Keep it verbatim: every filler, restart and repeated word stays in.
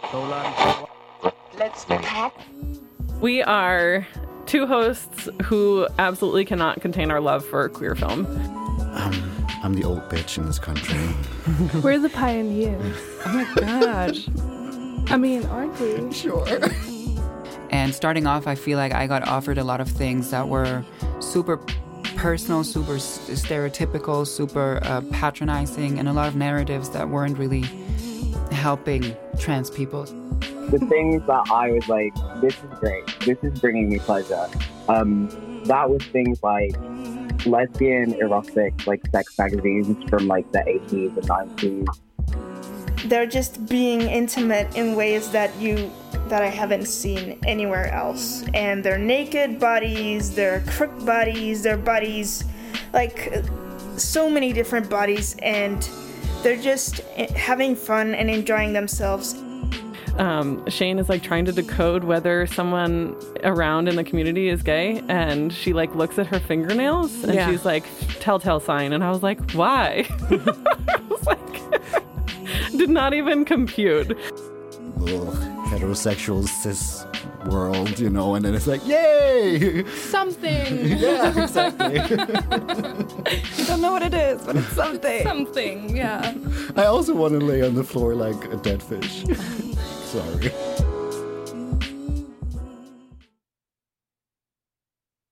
Let's talk. We are two hosts who absolutely cannot contain our love for queer film. Um, I'm the old bitch in this country. We're the pioneers. Oh my gosh. I mean, aren't we? Sure. And starting off, I feel like I got offered a lot of things that were super personal, super stereotypical, super uh, patronizing, and a lot of narratives that weren't really helping trans people. The things that I was like, this is great, this is bringing me pleasure. Um, that was things like lesbian erotic, like sex magazines from like the eighties and nineties. They're just being intimate in ways that you that I haven't seen anywhere else. And their naked bodies, their crook bodies, their bodies, like so many different bodies, and they're just having fun and enjoying themselves. Um, Shane is like trying to decode whether someone around in the community is gay, and she like looks at her fingernails and Yeah. she's like, telltale sign. And I was like, why? I was like, did not even compute. Little heterosexual cis world, you know, and then it's like, yay! Something. Yeah, exactly. You don't know what it is, but it's something. Something, yeah. I also want to lay on the floor like a dead fish. Sorry.